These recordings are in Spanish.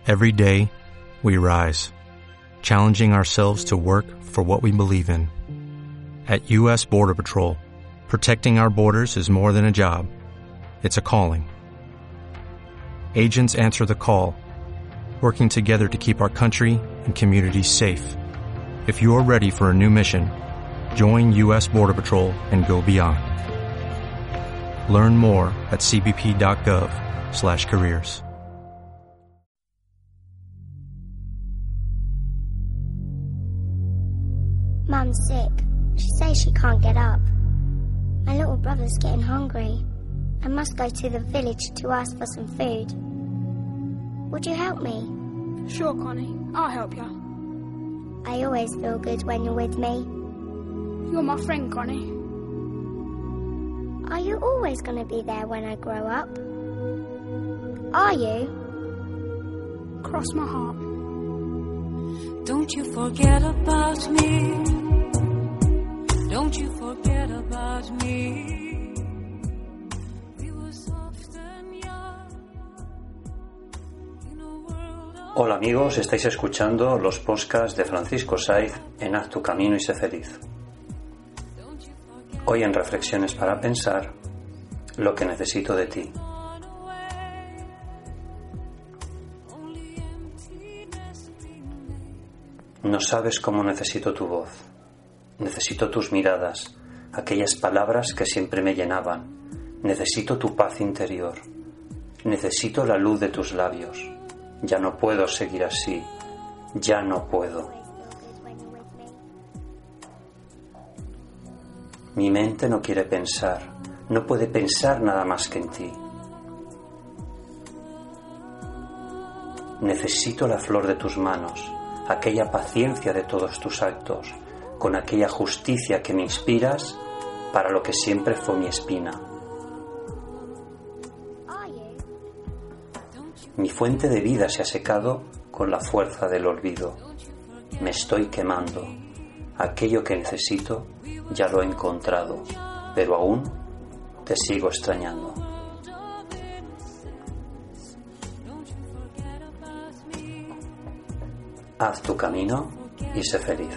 Every day, we rise, challenging ourselves to work for what we believe in. At U.S. Border Patrol, protecting our borders is more than a job. It's a calling. Agents answer the call, working together to keep our country and communities safe. If you're ready for a new mission, join U.S. Border Patrol and go beyond. Learn more at cbp.gov/careers. Mum's sick. She says she can't get up. My little brother's getting hungry. I must go to the village to ask for some food. Would you help me? Sure, Connie. I'll help you. I always feel good when you're with me. You're my friend, Connie. Are you always going to be there when I grow up? Are you? Cross my heart. Don't you forget about me. Don't you forget about me. We were soft and young in a world of... Hola amigos, estáis escuchando los podcasts de Francisco Saiz en Haz tu camino y sé feliz. Hoy en Reflexiones para pensar, lo que necesito de ti. No sabes cómo necesito tu voz. Necesito tus miradas, aquellas palabras que siempre me llenaban. Necesito tu paz interior. Necesito la luz de tus labios. Ya no puedo seguir así. Ya no puedo. Mi mente no quiere pensar. No puede pensar nada más que en ti. Necesito la flor de tus manos, aquella paciencia de todos tus actos, con aquella justicia que me inspiras para lo que siempre fue mi espina. Mi fuente de vida se ha secado con la fuerza del olvido. Me estoy quemando. Aquello que necesito ya lo he encontrado, pero aún te sigo extrañando. Haz tu camino y sé feliz.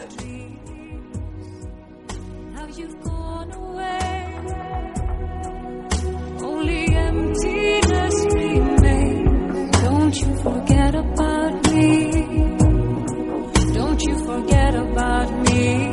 Don't you forget about me. Don't you forget about me.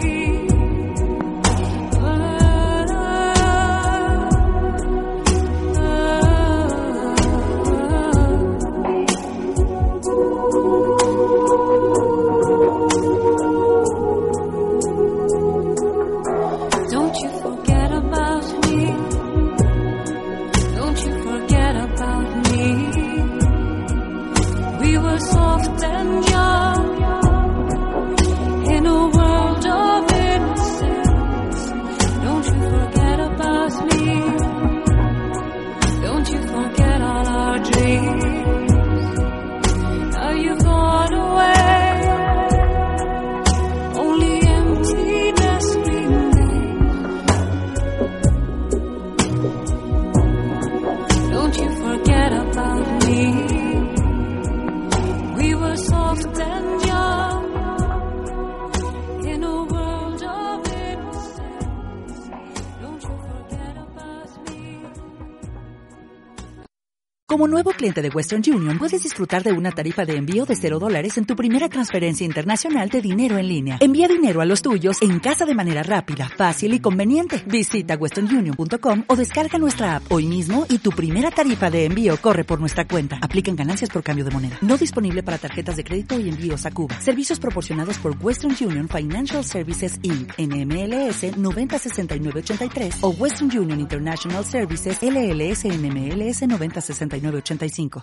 Como nuevo cliente de Western Union, puedes disfrutar de una tarifa de envío de $0 en tu primera transferencia internacional de dinero en línea. Envía dinero a los tuyos en casa de manera rápida, fácil y conveniente. Visita westernunion.com o descarga nuestra app hoy mismo y tu primera tarifa de envío corre por nuestra cuenta. Aplican ganancias por cambio de moneda. No disponible para tarjetas de crédito y envíos a Cuba. Servicios proporcionados por Western Union Financial Services Inc. NMLS 906983 o Western Union International Services LLS NMLS 906985.